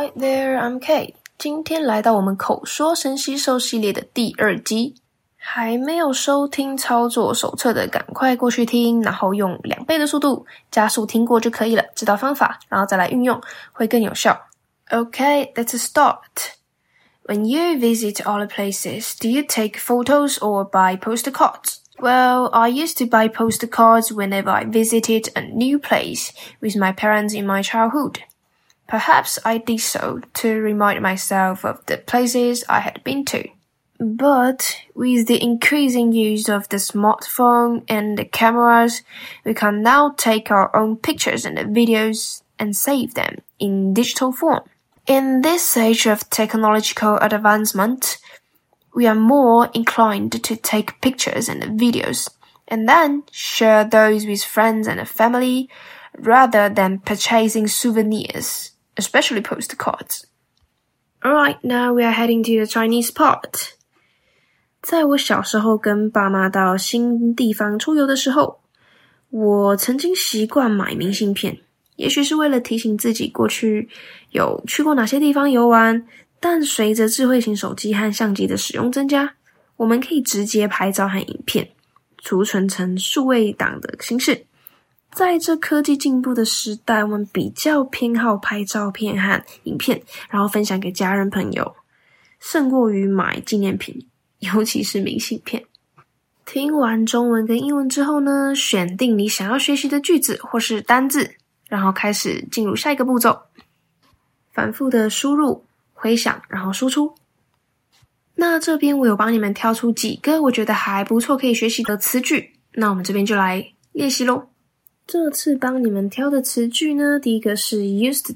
Hi there, I'm Kate. 今天来到我们口说神吸收系列的第2集。还没有收听操作手册的，赶快过去听，然后用2倍的速度加速听过就可以了。知道方法，然后再来运用，会更有效。Okay, let's start. When you visit other places, do you take photos or buy postcards? Well, I used to buy postcards whenever I visited a new place with my parents in my childhood.Perhaps I did so to remind myself of the places I had been to. But with the increasing use of the smartphone and the cameras, we can now take our own pictures and videos and save them in digital form. In this age of technological advancement, we are more inclined to take pictures and videos and then share those with friends and family rather than purchasing souvenirs.Especially postcards. Alright, now we are heading to the Chinese part. 在我小时候跟爸妈到新地方出游的时候，我曾经习惯买明信片，也许是为了提醒自己过去有去过哪些地方游玩，但随着智慧型手机和相机的使用增加，我们可以直接拍照和影片，储存成数位档的形式。在这科技进步的时代，我们比较偏好拍照片和影片，然后分享给家人朋友，胜过于买纪念品，尤其是明信片。听完中文跟英文之后呢，选定你想要学习的句子或是单字，然后开始进入下一个步骤，反复的输入、回想，然后输出。那这边我有帮你们挑出几个我觉得还不错可以学习的词句，那我们这边就来练习咯。这次帮你们挑的词句呢，第一个是 used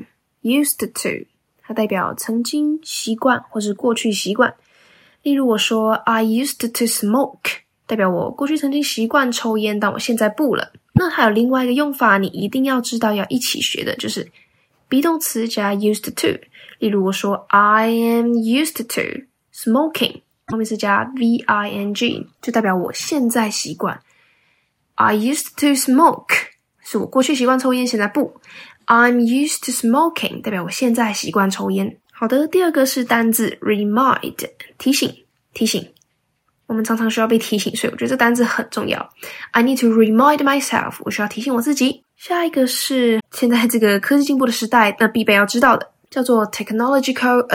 to， 它代表曾经、习惯或是过去习惯。例如我说 I used to smoke， 代表我过去曾经习惯抽烟，但我现在不了。那还有另外一个用法，你一定要知道要一起学的，就是 be 动词加 used to。例如我说 I am used to smoking， 后面是加 VING， 就代表我现在习惯。I used to smoke， 是我过去习惯抽烟，现在不。I'm used to smoking， 代表我现在习惯抽烟。好的，第二个是单字 remind， 提醒。我们常常需要被提醒，所以我觉得这单字很重要。I need to remind myself， 我需要提醒我自己。下一个是现在这个科技进步的时代，那必备要知道的，叫做 technological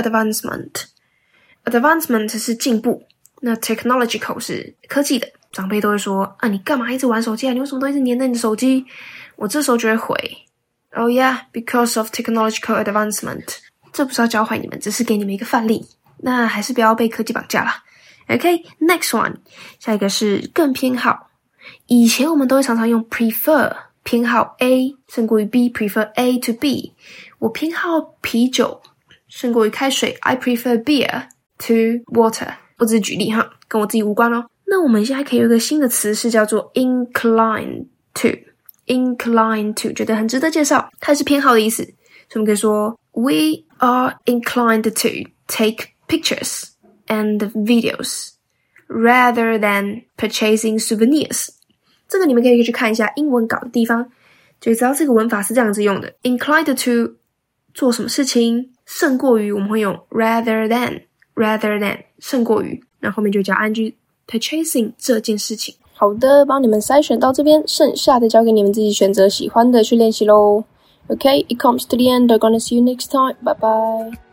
advancement。Advancement 是进步，那 technological 是科技的。长辈都会说你干嘛一直玩手机啊？你为什么都一直黏着你的手机？我这时候就会回 Oh yeah, because of technological advancement。 这不是要教坏你们，只是给你们一个范例，那还是不要被科技绑架啦。 OK, next one， 下一个是更偏好。以前我们都会常常用 prefer， 偏好 A 胜过于 B， prefer A to B。 我偏好啤酒胜过于开水， I prefer beer to water。 我只是举例哈，跟我自己无关哦。那我们现在可以有一个新的词是叫做 incline to， 觉得很值得介绍，它是偏好的意思，所以我们可以说 We are inclined to take pictures and videos rather than purchasing souvenirs。 这个你们可以去看一下英文稿的地方，就知道这个文法是这样子用的。 Inclined to 做什么事情，胜过于我们会用 rather than 胜过于，然后后面就加 ing purchasing 这件事情。好的，帮你们筛选到这边，剩下的交给你们自己选择喜欢的去练习咯。Okay, it comes to the end. I'm gonna see you next time. Bye bye.